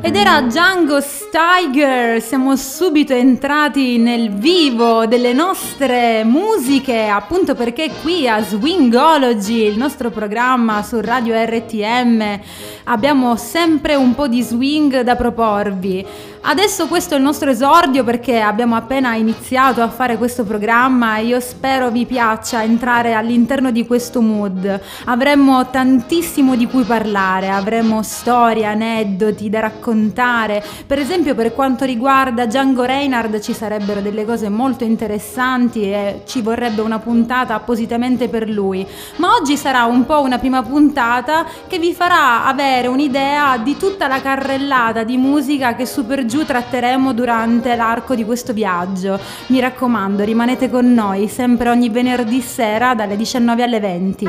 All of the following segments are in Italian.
Ed era Django Steiger. Siamo subito entrati nel vivo delle nostre musiche, appunto perché qui a Swingology, il nostro programma su Radio RTM, abbiamo sempre un po' di swing da proporvi. Adesso questo è il nostro esordio perché abbiamo appena iniziato a fare questo programma e io spero vi piaccia entrare all'interno di questo mood. Avremo tantissimo di cui parlare, avremo storie, aneddoti da raccontare. Per esempio, per quanto riguarda Django Reinhardt ci sarebbero delle cose molto interessanti e ci vorrebbe una puntata appositamente per lui. Ma oggi sarà un po' una prima puntata che vi farà avere un'idea di tutta la carrellata di musica che su per giù tratteremo durante l'arco di questo viaggio. Mi raccomando, rimanete con noi sempre ogni venerdì sera dalle 19 alle 20.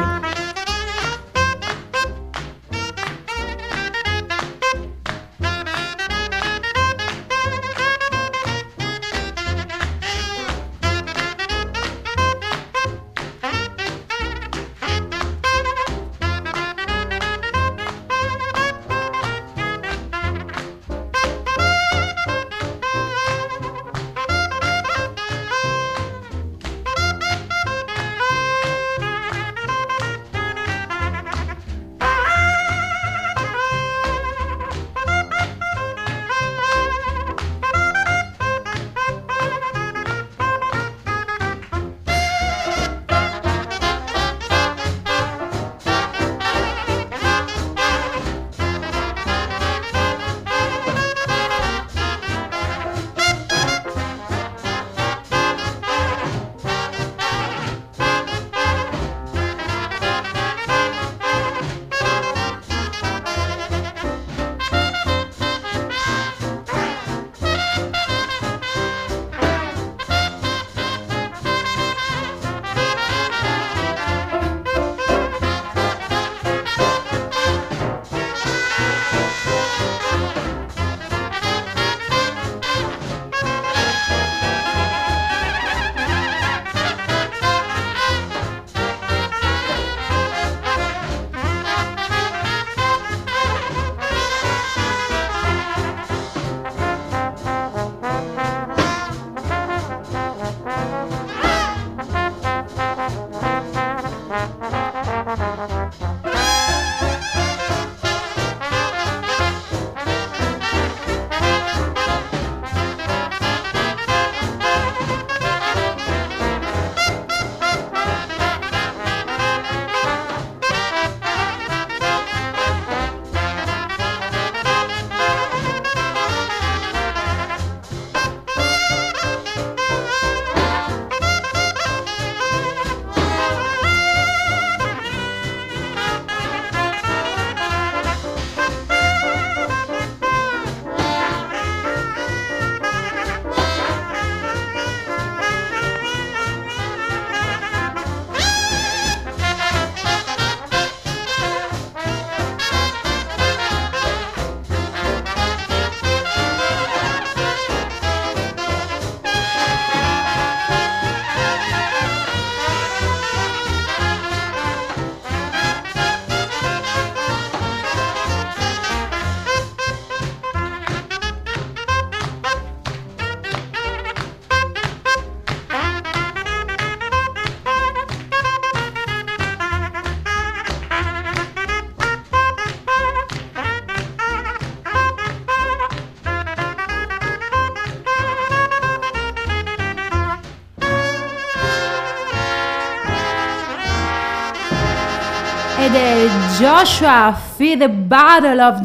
Ed è Joshua Feed the Battle of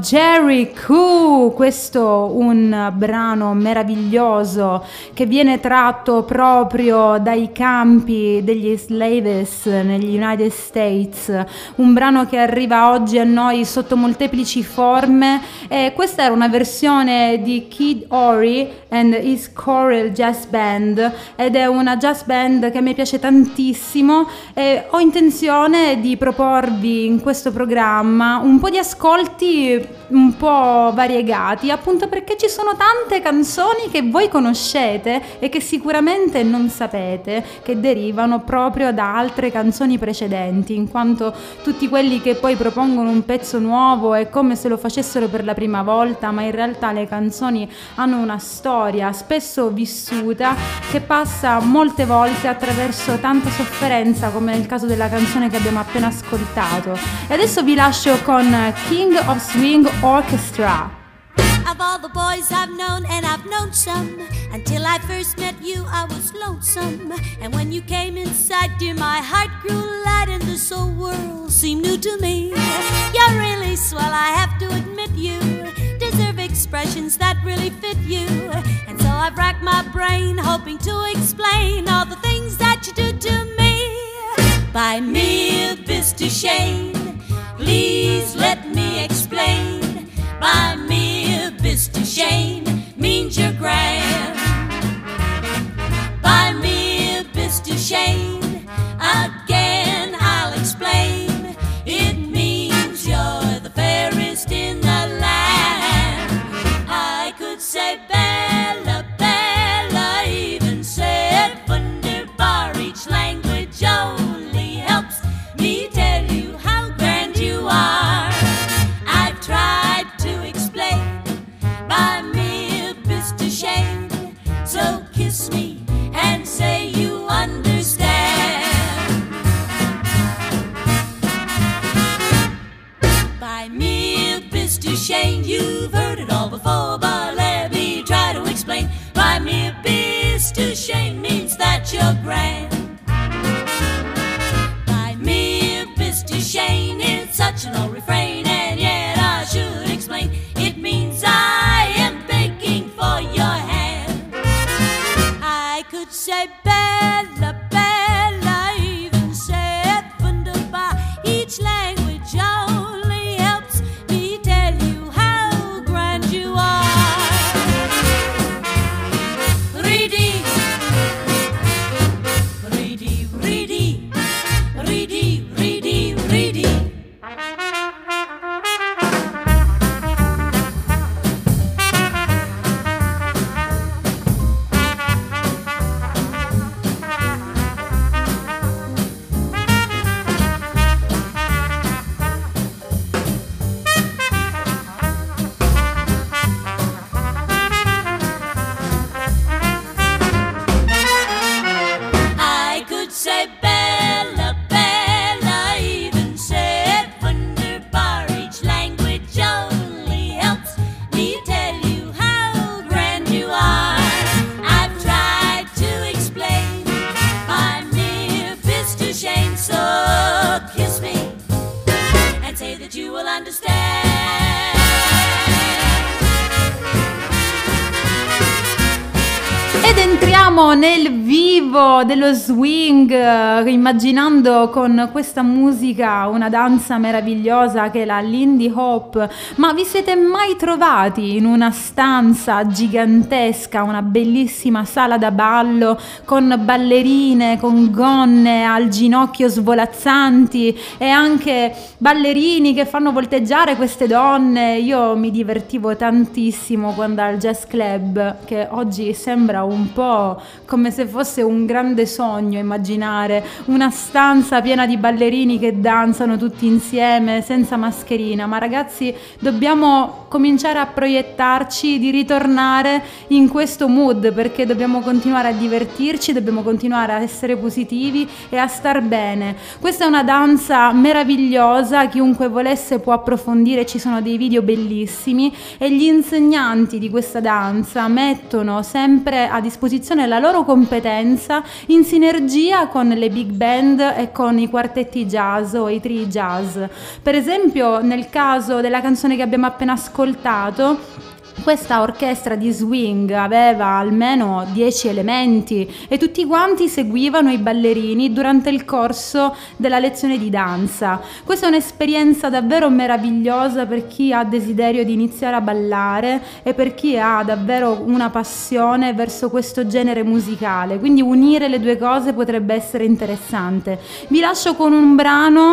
Jericho, questo un brano meraviglioso che viene tratto proprio dai campi degli slaves negli United States, un brano che arriva oggi a noi sotto molteplici forme e questa era una versione di Kid Ory and his Choral Jazz Band ed è una jazz band che a me piace tantissimo e ho intenzione di proporvi in questo programma un po' di ascolti un po' variegati, appunto perché ci sono tante canzoni che voi conoscete e che sicuramente non sapete che derivano proprio da altre canzoni precedenti, in quanto tutti quelli che poi propongono un pezzo nuovo è come se lo facessero per la prima volta, ma in realtà le canzoni hanno una storia spesso vissuta che passa molte volte attraverso tanta sofferenza, come nel caso della canzone che abbiamo appena ascoltato. E adesso vi lascio con King of Swing Orchestra. Of all the boys I've known, and I've known some, until I first met you I was lonesome. And when you came inside, dear, my heart grew light and this whole world seemed new to me. You're really swell, I have to admit you deserve expressions that really fit you. And so I've racked my brain hoping to explain all the things that you do to me. Buy me a Mr. Shane, please let me explain. Buy me a Mr. Shane means you're grand. Buy me a Mr. Shane, again I'll explain. It means you're the fairest in the land. I could say Bella, Bella, even say it wunderbar. Each language only helps me tell you how grand you are. I've tried to explain. Buy me a Mr. Shane, so kiss me and say you understand. Buy me a Mr. Shane, you've heard it all before, but let me try to explain. Buy me a Mr. Shane means that you're grand. Buy me a Mr. Shane, it's such an old refrain, and yet I should explain. It means I am begging for your hand. I could say Bella, Bella, even say it wunderbar. Each language only helps me tell you how grand you are. Reedy, reedy, reedy, reedy, reedy, reedy. I could say Bella, Bella, even say it wunderbar. Each language only helps me tell you how grand you are. I've tried to explain. I'm near Mr. Shane, so kiss me and say that you will understand. Ed entriamo nel vivo dello swing, immaginando con questa musica una danza meravigliosa che è la Lindy Hop. Ma vi siete mai trovati in una stanza gigantesca, una bellissima sala da ballo con ballerine, con gonne al ginocchio svolazzanti e anche ballerini che fanno volteggiare queste donne? Io mi divertivo tantissimo quando al Jazz Club, che oggi sembra un po' come se fosse un grande sogno immaginare una stanza piena di ballerini che danzano tutti insieme senza mascherina. Ma ragazzi, dobbiamo cominciare a proiettarci di ritornare in questo mood, perché dobbiamo continuare a divertirci, dobbiamo continuare a essere positivi e a star bene. Questa è una danza meravigliosa, chiunque volesse può approfondire, ci sono dei video bellissimi e gli insegnanti di questa danza mettono sempre a disposizione la loro competenza in sinergia con le big band e con i quartetti jazz o i trii jazz. Per esempio, nel caso della canzone che abbiamo appena ascoltato, questa orchestra di swing aveva almeno 10 elementi e tutti quanti seguivano i ballerini durante il corso della lezione di danza. Questa è un'esperienza davvero meravigliosa per chi ha desiderio di iniziare a ballare e per chi ha davvero una passione verso questo genere musicale, quindi unire le due cose potrebbe essere interessante. Vi lascio con un brano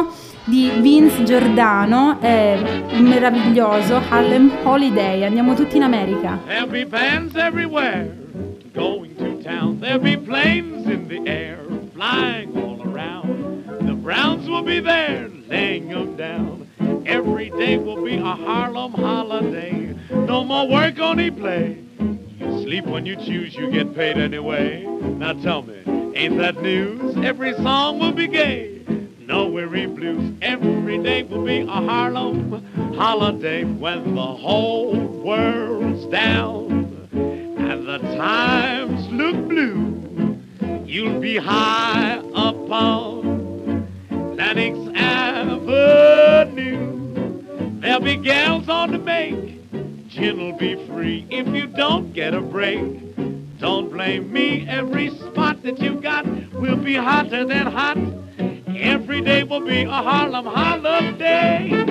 di Vince Giordano, è meraviglioso, Harlem Holiday. Andiamo tutti in America. There'll be bands everywhere going to town. There'll be planes in the air flying all around. The Browns will be there laying them down. Every day will be a Harlem holiday. No more work, only play. You sleep when you choose, you get paid anyway. Now tell me, ain't that news? Every song will be gay. No weary blues. Every day will be a Harlem holiday when the whole world's down and the times look blue. You'll be high up on Lenox Avenue. There'll be gals on the make. Gin'll be free if you don't get a break. Don't blame me. Every spot that you got will be hotter than hot. Every day will be a Harlem holiday.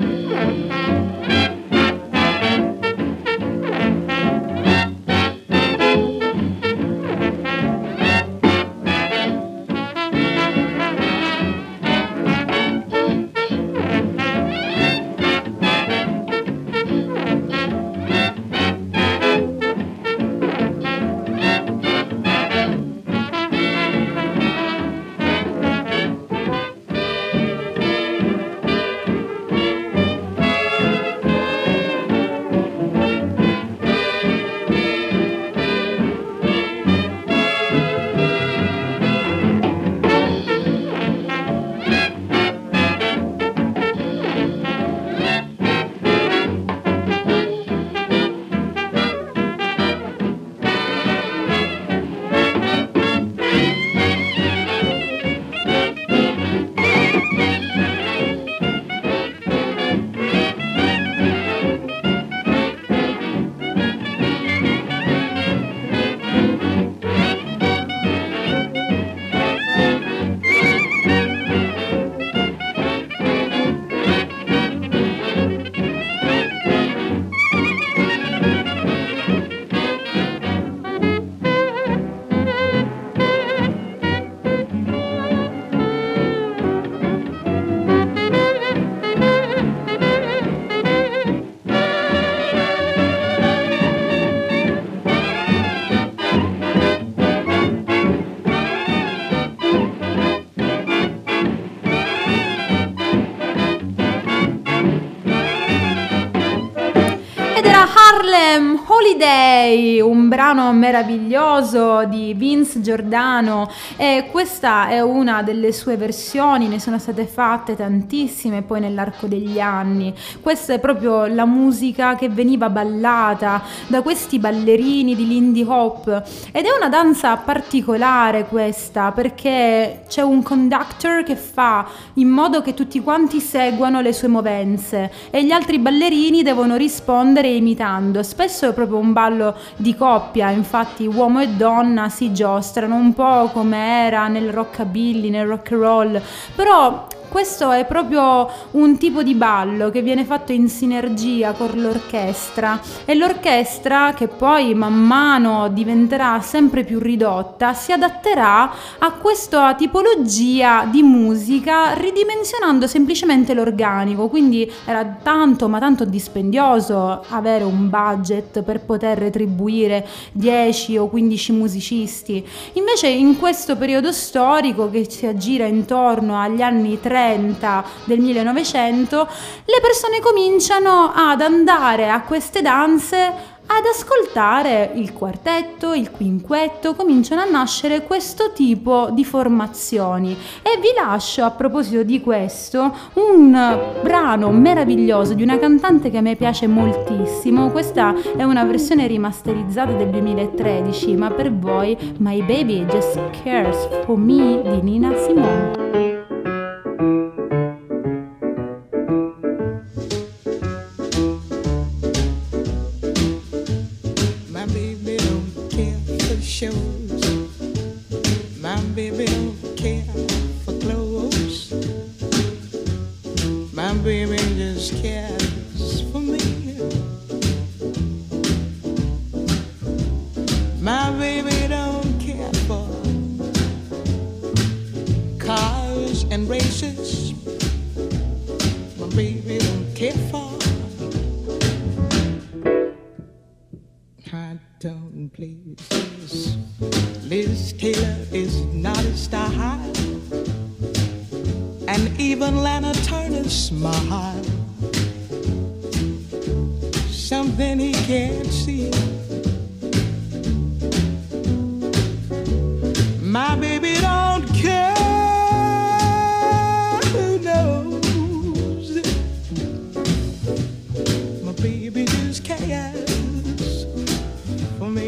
Harlem Holiday, un brano meraviglioso di Vince Giordano, e questa è una delle sue versioni, ne sono state fatte tantissime poi nell'arco degli anni. Questa è proprio la musica che veniva ballata da questi ballerini di Lindy Hop, ed è una danza particolare questa, perché c'è un conductor che fa in modo che tutti quanti seguano le sue movenze e gli altri ballerini devono rispondere imitando. Spesso è proprio un ballo di coppia, infatti uomo e donna si giostrano un po' come era nel rockabilly, nel rock and roll, però questo è proprio un tipo di ballo che viene fatto in sinergia con l'orchestra, e l'orchestra, che poi man mano diventerà sempre più ridotta, si adatterà a questa tipologia di musica ridimensionando semplicemente l'organico. Quindi era tanto ma tanto dispendioso avere un budget per poter retribuire 10 o 15 musicisti. Invece in questo periodo storico, che si aggira intorno agli anni 30 del 1900, le persone cominciano ad andare a queste danze, ad ascoltare il quartetto, il quinquetto, cominciano a nascere questo tipo di formazioni. E vi lascio, a proposito di questo, un brano meraviglioso di una cantante che a me piace moltissimo. Questa è una versione rimasterizzata del 2013, ma per voi My Baby Just Cares For Me di Nina Simone. My baby don't care for clothes. My baby just cares for me. My baby don't care for cars and races. high-tone places. Liz Taylor is not his style, and even Lana Turner's smile, something he can't see. My baby don't care who knows. My baby just cares for me.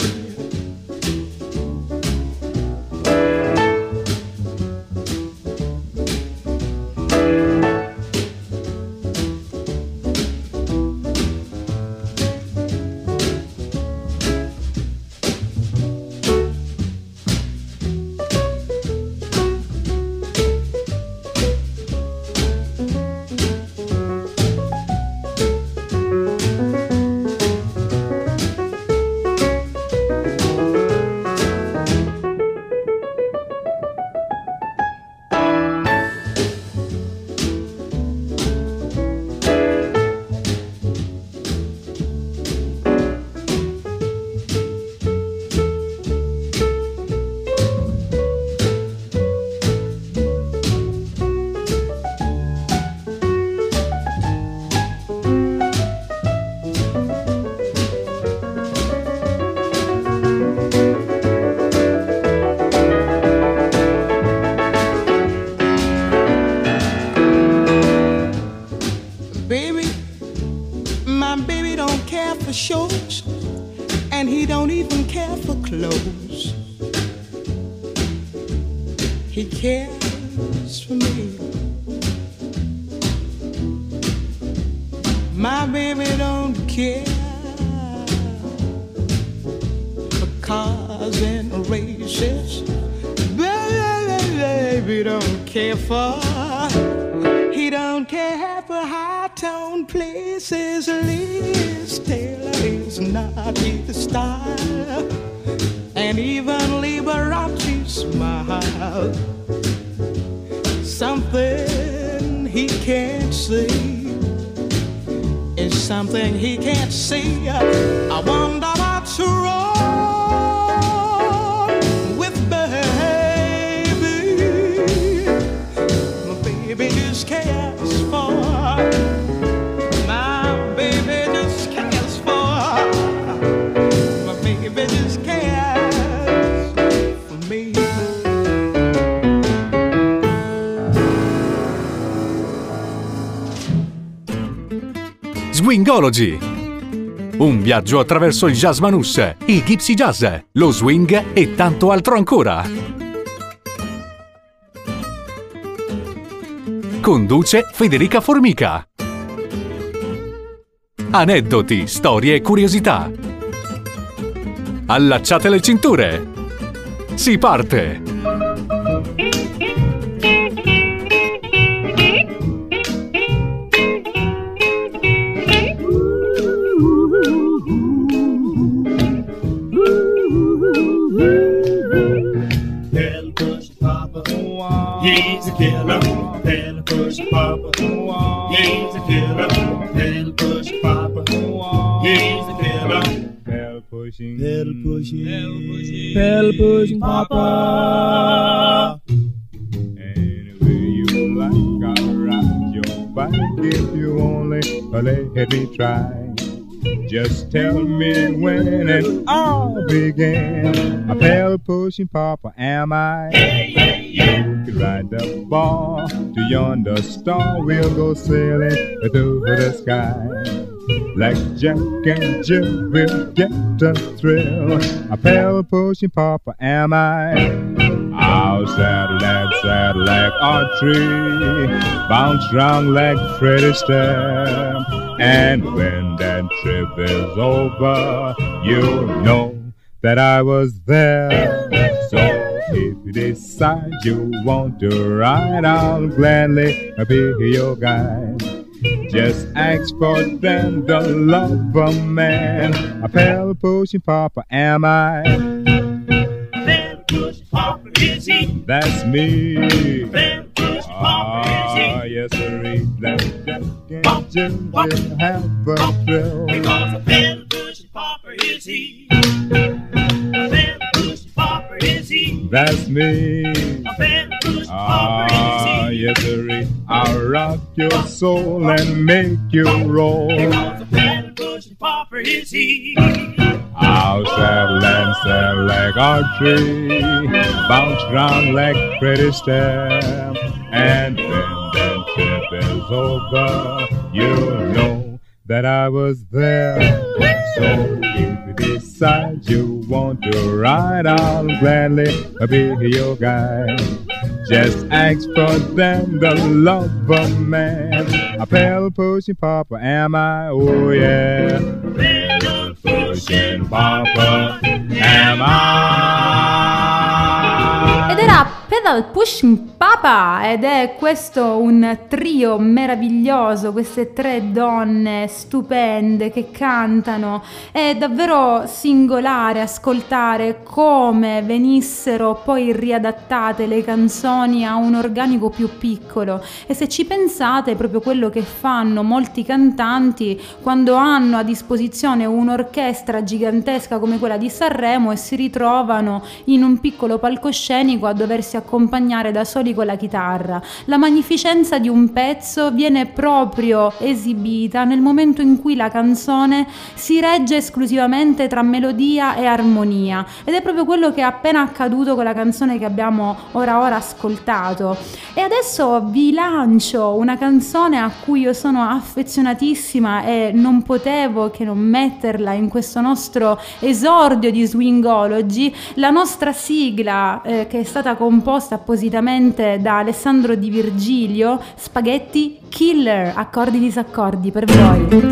Shows, and he don't even care for clothes. He cares for me. My baby don't care for cars and races. Baby don't care for. He don't care for high-tone places. Liz Taylor is not his style, and even Liberace smile, something he can't see is something he can't see. I wonder what's wrong with baby. My baby just cares for. My baby just cares for. My baby just cares for me. Swingology. Un viaggio attraverso il jazz manouche, i gypsy jazz, lo swing e tanto altro ancora. Conduce Federica Formica. Aneddoti, storie e curiosità. Allacciate le cinture. Si parte! Tell push Papa, he's a killer. Tell push Papa, he's a killer. Tell push Papa, he's a killer. Pedal pushing, pedal pushing, pedal pushing Papa. Anyway you like, I'll ride your bike if you only let me try. Just tell me when and I'll begin. A pedal pushing Papa am I? You can ride the ball to yonder star. We'll go sailing through the sky. Like Jack and Jill, we'll get a thrill. A pedal pushing Papa am I? I'll saddle like Audrey, bounce round like Fred Astaire. And when that trip is over, you'll know that I was there. So if you decide you want to ride, I'll gladly be your guide. Just ask for them, the love of man. A pedal pushing Papa am I? A pedal pushing Papa is he? That's me. A pedal pushing Papa is he? Yes, sir. That Jack and Jill will have a thrill. Because a pedal pushing Papa is he? That's me. Ah, yes, sirree. I'll rock your soul and make you roll. Because a pedal pushing pauper is he. I'll saddle and stand like archery, bounce round like pretty step, and when the trip is over, you'll know that I was there. So if you decide you want to ride, I'll gladly be your guide. Just ask for them, the lover man. A pedal pushing pauper am I? Oh yeah. Pedal pushing pauper am I. Ed era Pedal Pushing Papa, ed è questo un trio meraviglioso, queste tre donne stupende che cantano. È davvero singolare ascoltare come venissero poi riadattate le canzoni a un organico più piccolo, e se ci pensate è proprio quello che fanno molti cantanti quando hanno a disposizione un'orchestra gigantesca come quella di Sanremo e si ritrovano in un piccolo palcoscenico a doversi accompagnare da soli con la chitarra. La magnificenza di un pezzo viene proprio esibita nel momento in cui la canzone si regge esclusivamente tra melodia e armonia, ed è proprio quello che è appena accaduto con la canzone che abbiamo ora ascoltato. E adesso vi lancio una canzone a cui io sono affezionatissima e non potevo che non metterla in questo nostro esordio di Swingology, la nostra sigla che è stata composta appositamente da Alessandro Di Virgilio, Spaghetti Killer, accordi disaccordi per voi.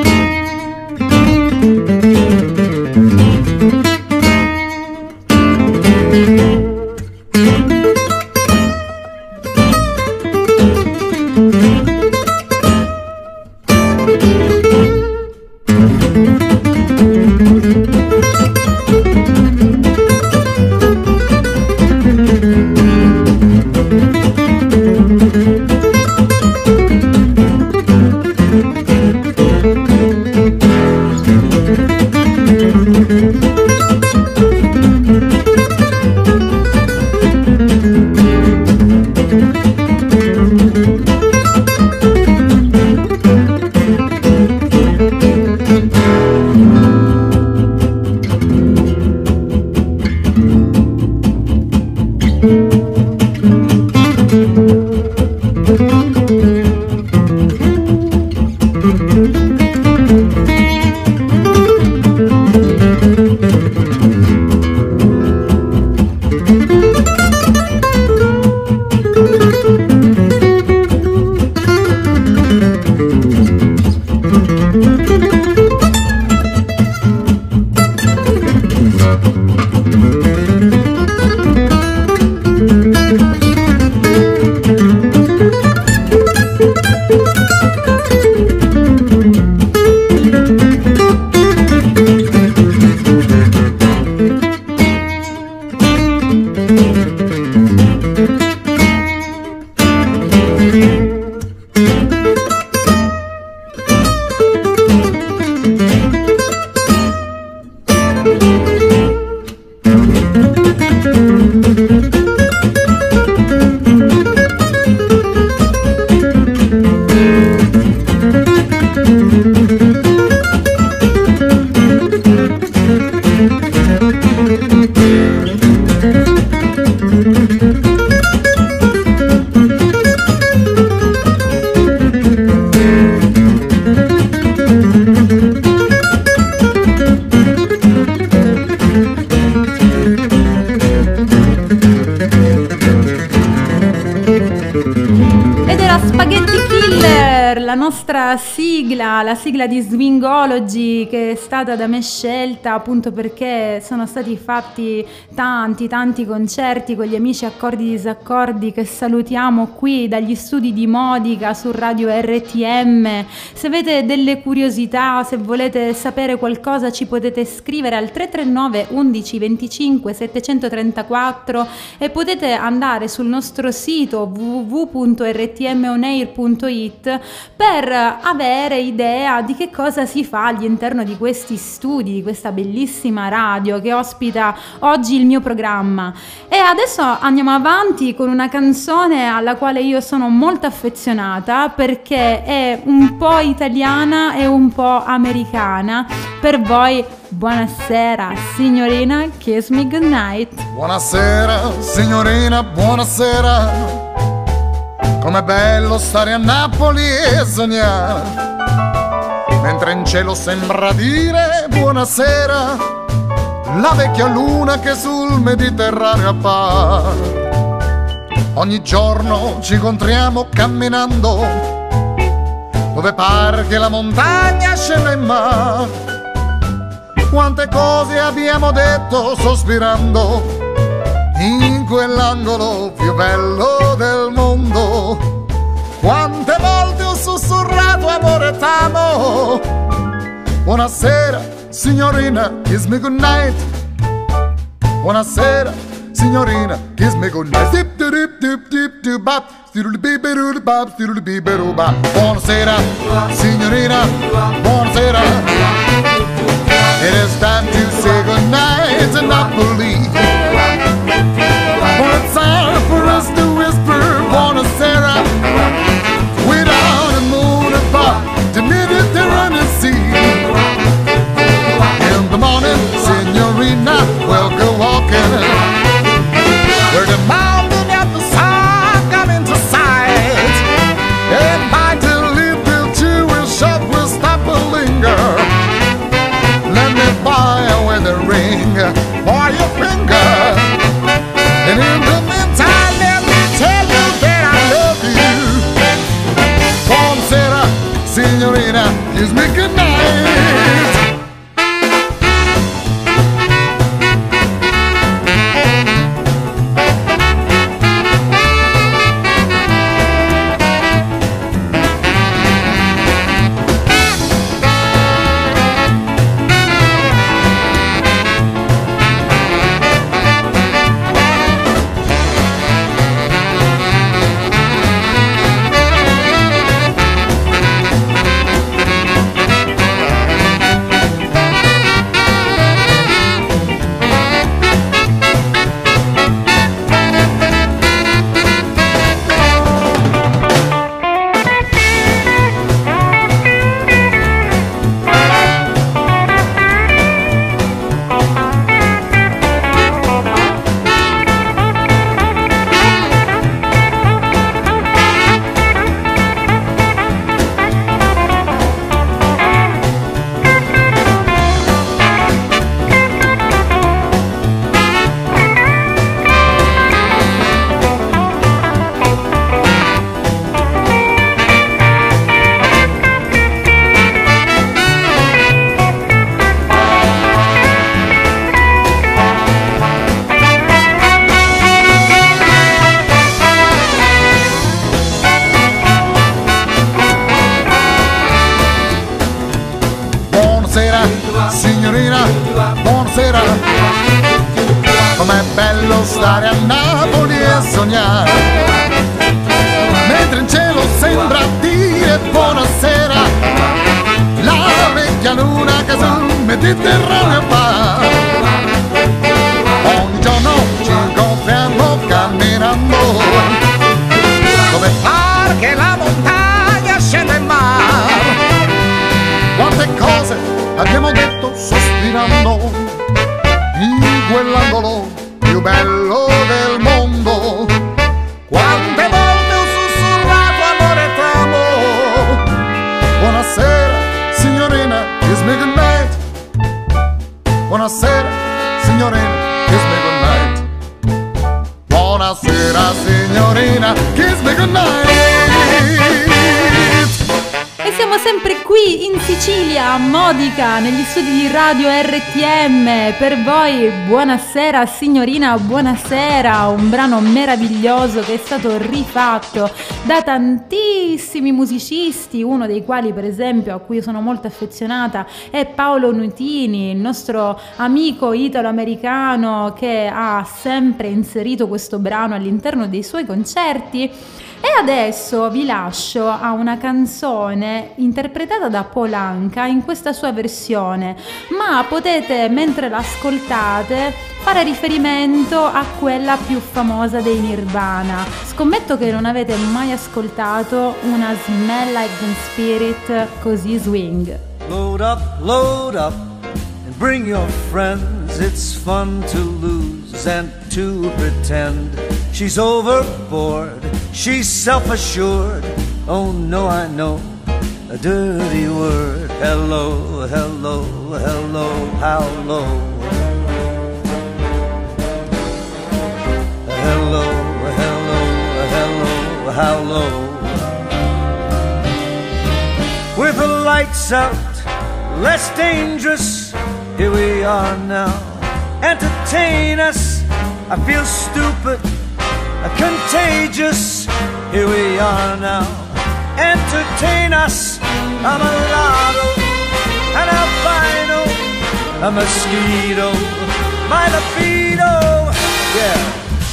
Sigla, la sigla di Swingology, che è stata da me scelta appunto perché sono stati fatti tanti concerti con gli amici Accordi Disaccordi, che salutiamo qui dagli studi di Modica su Radio RTM. Se avete delle curiosità, se volete sapere qualcosa, ci potete scrivere al 339 11 25 734 e potete andare sul nostro sito www.rtmonair.it per per avere idea di che cosa si fa all'interno di questi studi, di questa bellissima radio che ospita oggi il mio programma. E adesso andiamo avanti con una canzone alla quale io sono molto affezionata, perché è un po' italiana e un po' americana. Per voi, buonasera signorina, kiss me goodnight. Buonasera signorina, buonasera. Com'è bello stare a Napoli e sognare, mentre in cielo sembra dire buonasera la vecchia luna che sul Mediterraneo appare. Ogni giorno ci incontriamo camminando, dove pare che la montagna scenda in mare. Quante cose abbiamo detto sospirando in quell'angolo più bello del mondo. Quante volte ho sussurrato amore t'amo. Buonasera signorina, kiss me goodnight. Buonasera signorina, kiss me goodnight. Dip dip dip dip dip bop. Buonasera signorina, buonasera. It is time to say goodnight to Napoli. Well, it's time for us to whisper buonasera without a moon above the Mediterranean Sea. In the morning, signorina, we'll go walking where the mountain and the sun come into sight. And by the little Jewish shop we'll stop and linger. Let me buy a wedding ring for your finger. And in the meantime, let me tell you that I love you. Buonasera, signorina, kiss me goodnight. Signorina, buonasera. Com'è bello stare a Napoli e sognare, mentre in cielo sembra dire buonasera la vecchia luna che sul Mediterraneo va. Ogni giorno ci incontriamo camminando, dove pare che la montagna scenda in mare. Quante cose abbiamo detto sospirando in quell'angolo più bello del mondo. Quante volte ho sussurrato amore t'amo. Buonasera signorina, kiss me goodnight. Buonasera signorina, kiss me goodnight. Buonasera signorina, kiss me goodnight. E siamo sempre qui in Sicilia, a Modica, negli studi di Radio RTM. Per voi, buonasera signorina, buonasera. Un brano meraviglioso che è stato rifatto da tantissimi musicisti, uno dei quali per esempio a cui sono molto affezionata è Paolo Nutini, il nostro amico italo-americano che ha sempre inserito questo brano all'interno dei suoi concerti. E adesso vi lascio a una canzone interpretata da Paul Anka in questa sua versione, ma potete, mentre l'ascoltate, fare riferimento a quella più famosa dei Nirvana. Scommetto che non avete mai ascoltato una Smell Like Teen Spirit così swing. Load up and bring your friends. It's fun to lose and to pretend. She's overboard, she's self-assured. Oh no, I know a dirty word. Hello, hello, hello, how low? Hello, hello, hello, how low? With the lights out, less dangerous, here we are now. Entertain us, I feel stupid, contagious, here we are now. Entertain us, I'm a lotto, an albino, a mosquito, my libido, yeah.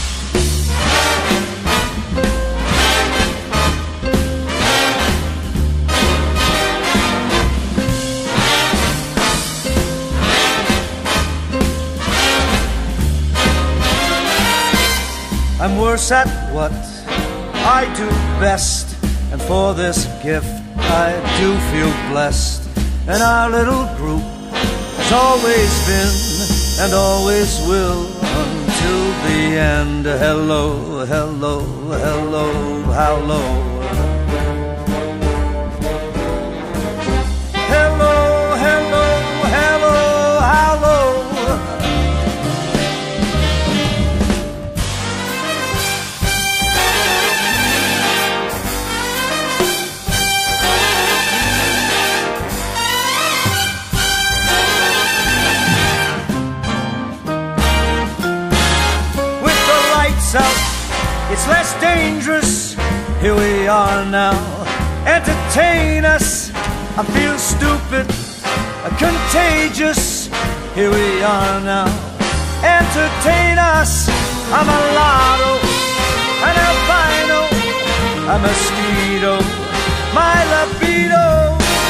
I'm worse at what I do best, and for this gift I do feel blessed. And our little group has always been and always will until the end. Hello, hello, hello, how low? Hello, hello, hello, how low? Out, it's less dangerous, here we are now. Entertain us, I feel stupid, contagious, here we are now. Entertain us, I'm a lotto, an albino, a mosquito, my libido.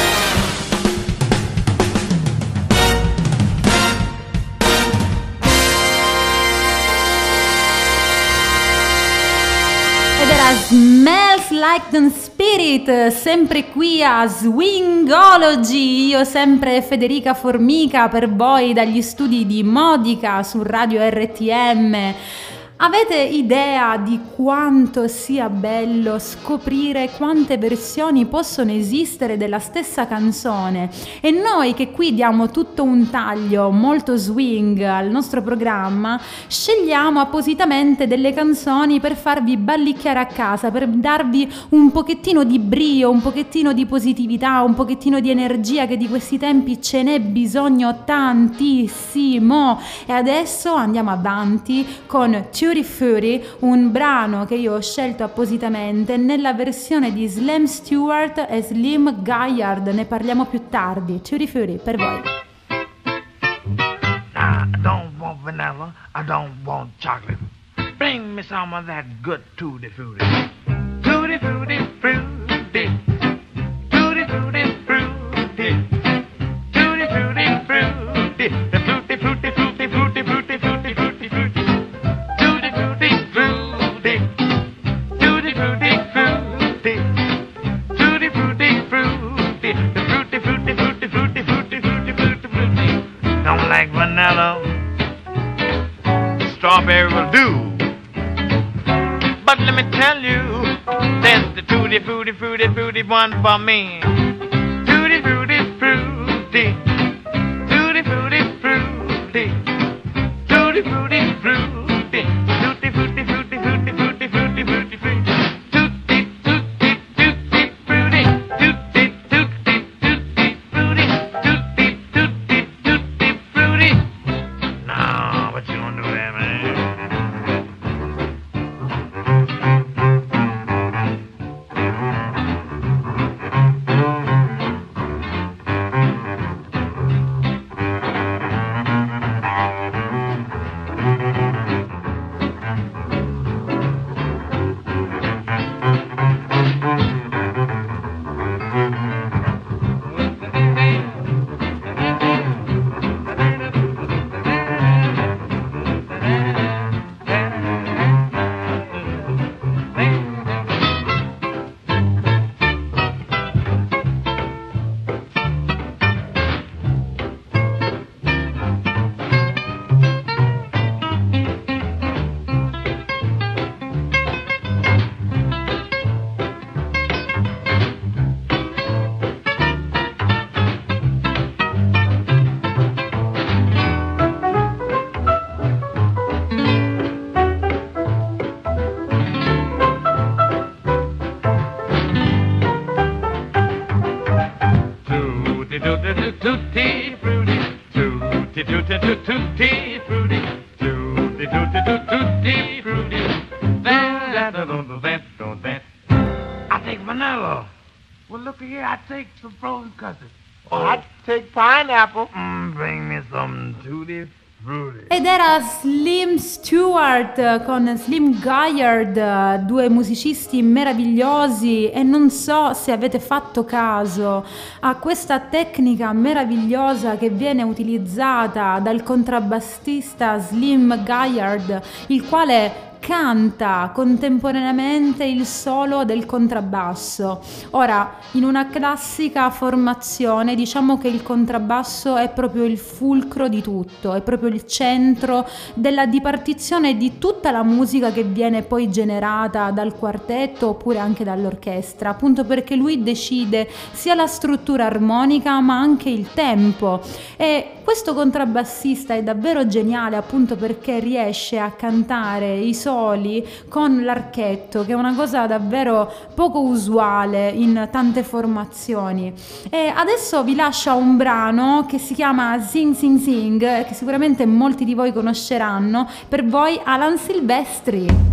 Smells Like Teen Spirit, sempre qui a Swingology. Io sempre Federica Formica per voi dagli studi di Modica su Radio RTM. Avete idea di quanto sia bello scoprire quante versioni possono esistere della stessa canzone? E noi che qui diamo tutto un taglio molto swing al nostro programma, scegliamo appositamente delle canzoni per farvi ballicchiare a casa, per darvi un pochettino di brio, un pochettino di positività, un pochettino di energia, che di questi tempi ce n'è bisogno tantissimo. E adesso andiamo avanti con Tutti Frutti, un brano che io ho scelto appositamente nella versione di Slim Stewart e Slim Gaillard. Ne parliamo più tardi. Tutti Frutti per voi. I don't want vanilla, I don't want chocolate. Bring me some of that good Tutti Frutti. Tutti Frutti, fruity. Tutti Frutti, fruity. Tutti Frutti, fruity. The fruity, fruity, fruity, fruity, fruity, fruity, fruity, fruity. Tutti Frutti, fruity. Tutti Frutti, fruity. Tutti Frutti, fruity. The fruity, fruity, fruity, fruity, fruity, fruity, fruity, fruity. Don't like vanilla. Strawberry will do. But let me tell you, there's the Tutti Frutti, fruity, fruity one for me. Tutti Frutti, fruity. Tutti Frutti, fruity. Tutti Frutti, fruity. Tutti Frutti, fruity, fruity, fruity, fruity, fruity, fruity. Tutti, tutti, tutti, fruity. Tutti, tutti, tutti, fruity. Tutti, tutti, tutti, fruity. No, but you don't do that, man. tutti frutti, tutti tutti tutti frutti. I take vanilla. Well, look here, I take some frozen custard. Oh, I take pineapple. Bring me some tutti frutti. Ed era Slim Stewart con Slim Gaillard, due musicisti meravigliosi, e non so se avete fatto caso a questa tecnica meravigliosa che viene utilizzata dal contrabbassista Slim Gaillard, il quale canta contemporaneamente il solo del contrabbasso. Ora, in una classica formazione, diciamo che il contrabbasso è proprio il fulcro di tutto, è proprio il centro della dipartizione di tutta la musica che viene poi generata dal quartetto oppure anche dall'orchestra, appunto perché lui decide sia la struttura armonica ma anche il tempo. E questo contrabbassista è davvero geniale, appunto perché riesce a cantare i soli con l'archetto, che è una cosa davvero poco usuale in tante formazioni. E adesso vi lascio un brano che si chiama Sing Sing Sing, che sicuramente molti di voi conosceranno. Per voi Alan Silvestri.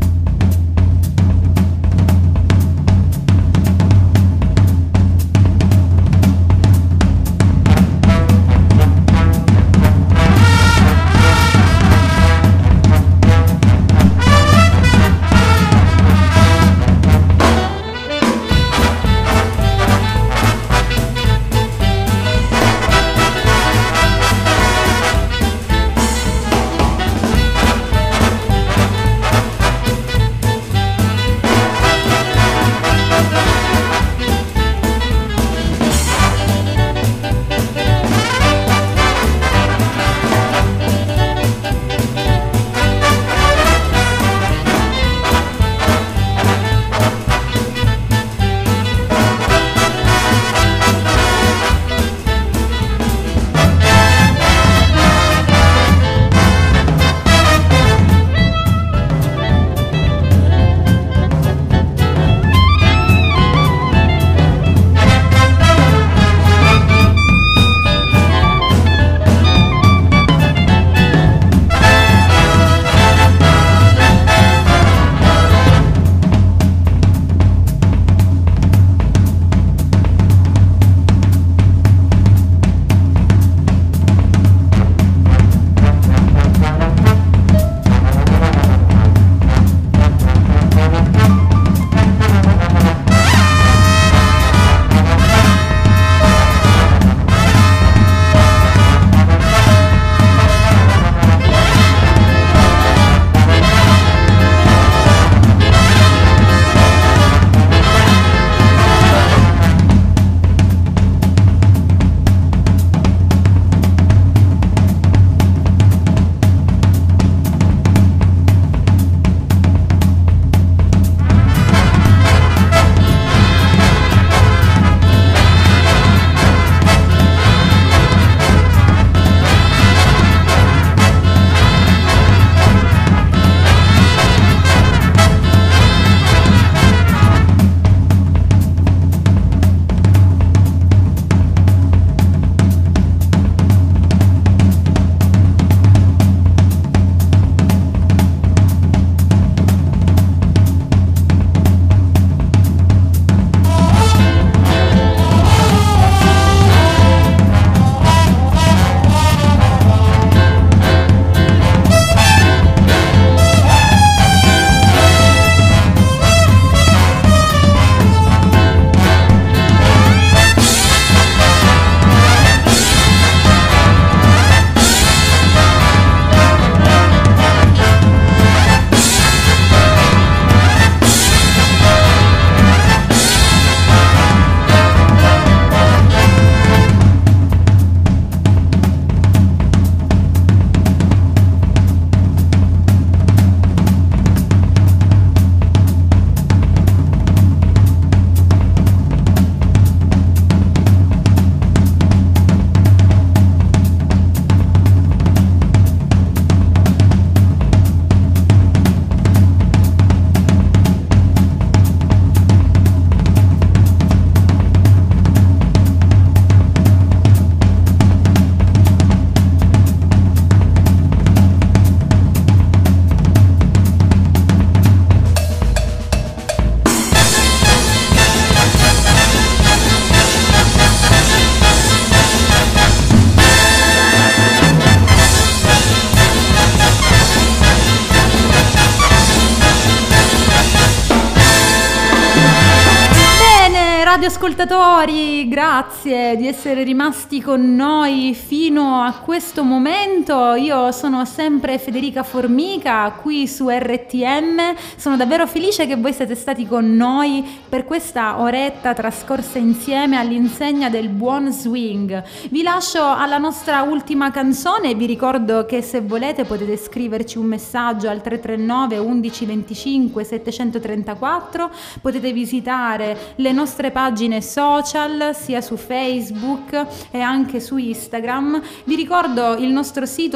radioascoltatori, grazie di essere rimasti con noi fino a questo momento. Io sono sempre Federica Formica qui su RTM. Sono davvero felice che voi siete stati con noi per questa oretta trascorsa insieme all'insegna del buon swing. Vi lascio alla nostra ultima canzone. Vi ricordo che se volete potete scriverci un messaggio al 339 11 25 734. Potete visitare le nostre pagine social sia su Facebook e anche su Instagram. Vi ricordo il nostro sito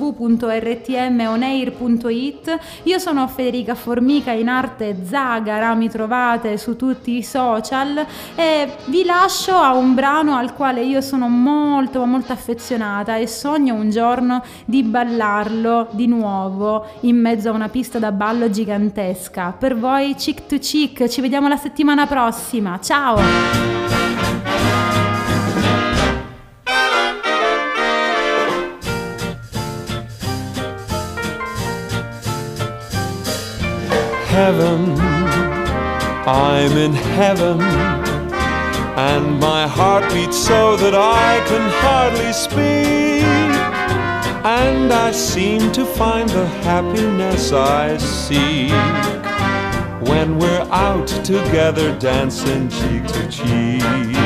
www.rtmonair.it. Io sono Federica Formica, in arte Zagara, mi trovate su tutti i social, e vi lascio a un brano al quale io sono molto affezionata e sogno un giorno di ballarlo di nuovo in mezzo a una pista da ballo gigantesca. Per voi Chick to Chick, ci vediamo la settimana prossima, ciao! Heaven, I'm in heaven, and my heart beats so that I can hardly speak, and I seem to find the happiness I seek when we're out together dancing cheek to cheek.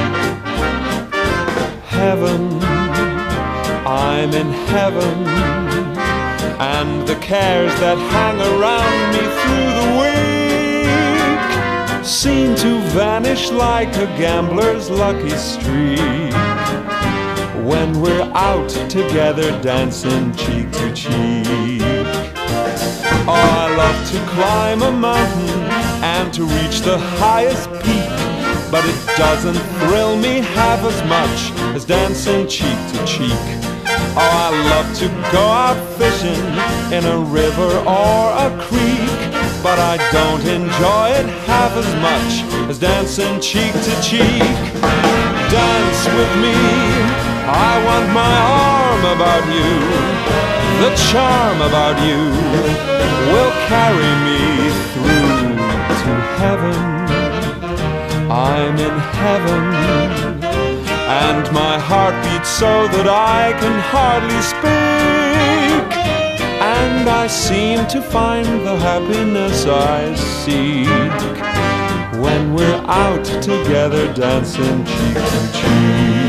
Heaven, I'm in heaven, and the cares that hang around me through the week seem to vanish like a gambler's lucky streak when we're out together dancing cheek to cheek. Oh, I love to climb a mountain and to reach the highest peak, but it doesn't thrill me half as much as dancing cheek to cheek. Oh, I love to go out fishing in a river or a creek, but I don't enjoy it half as much as dancing cheek to cheek. Dance with me, I want my arm about you. The charm about you will carry me through to heaven. I'm in heaven, and my heart beats so that I can hardly speak, and I seem to find the happiness I seek when we're out together dancing cheek to cheek.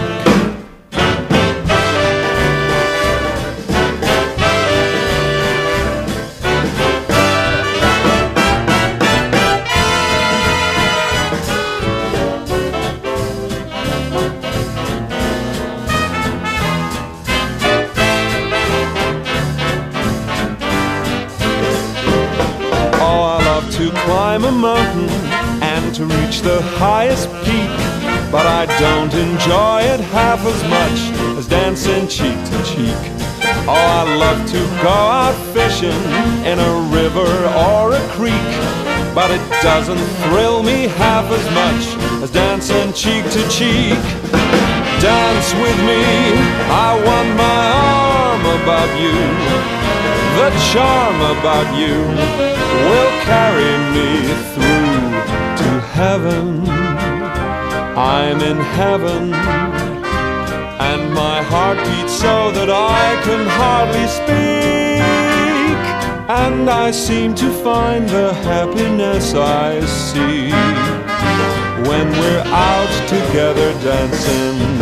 Climb a mountain and to reach the highest peak, but I don't enjoy it half as much as dancing cheek to cheek. Oh, I love to go out fishing in a river or a creek, but it doesn't thrill me half as much as dancing cheek to cheek. Dance with me, I want my arm about you. The charm about you will carry me through to heaven. I'm in heaven, and my heart beats so that I can hardly speak, and I seem to find the happiness I seek when we're out together dancing,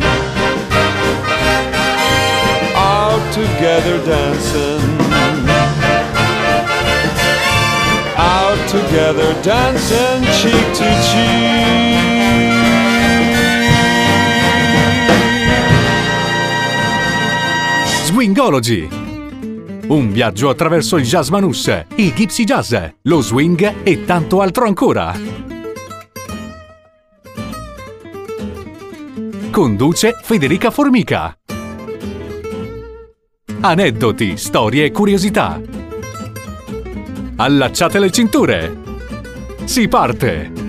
out together dancing, out together dancing cheek to cheek. Swingology, un viaggio attraverso il jazz manouche, il gypsy jazz, lo swing e tanto altro ancora. Conduce Federica Formica. Aneddoti, storie e curiosità. Allacciate le cinture. Si parte!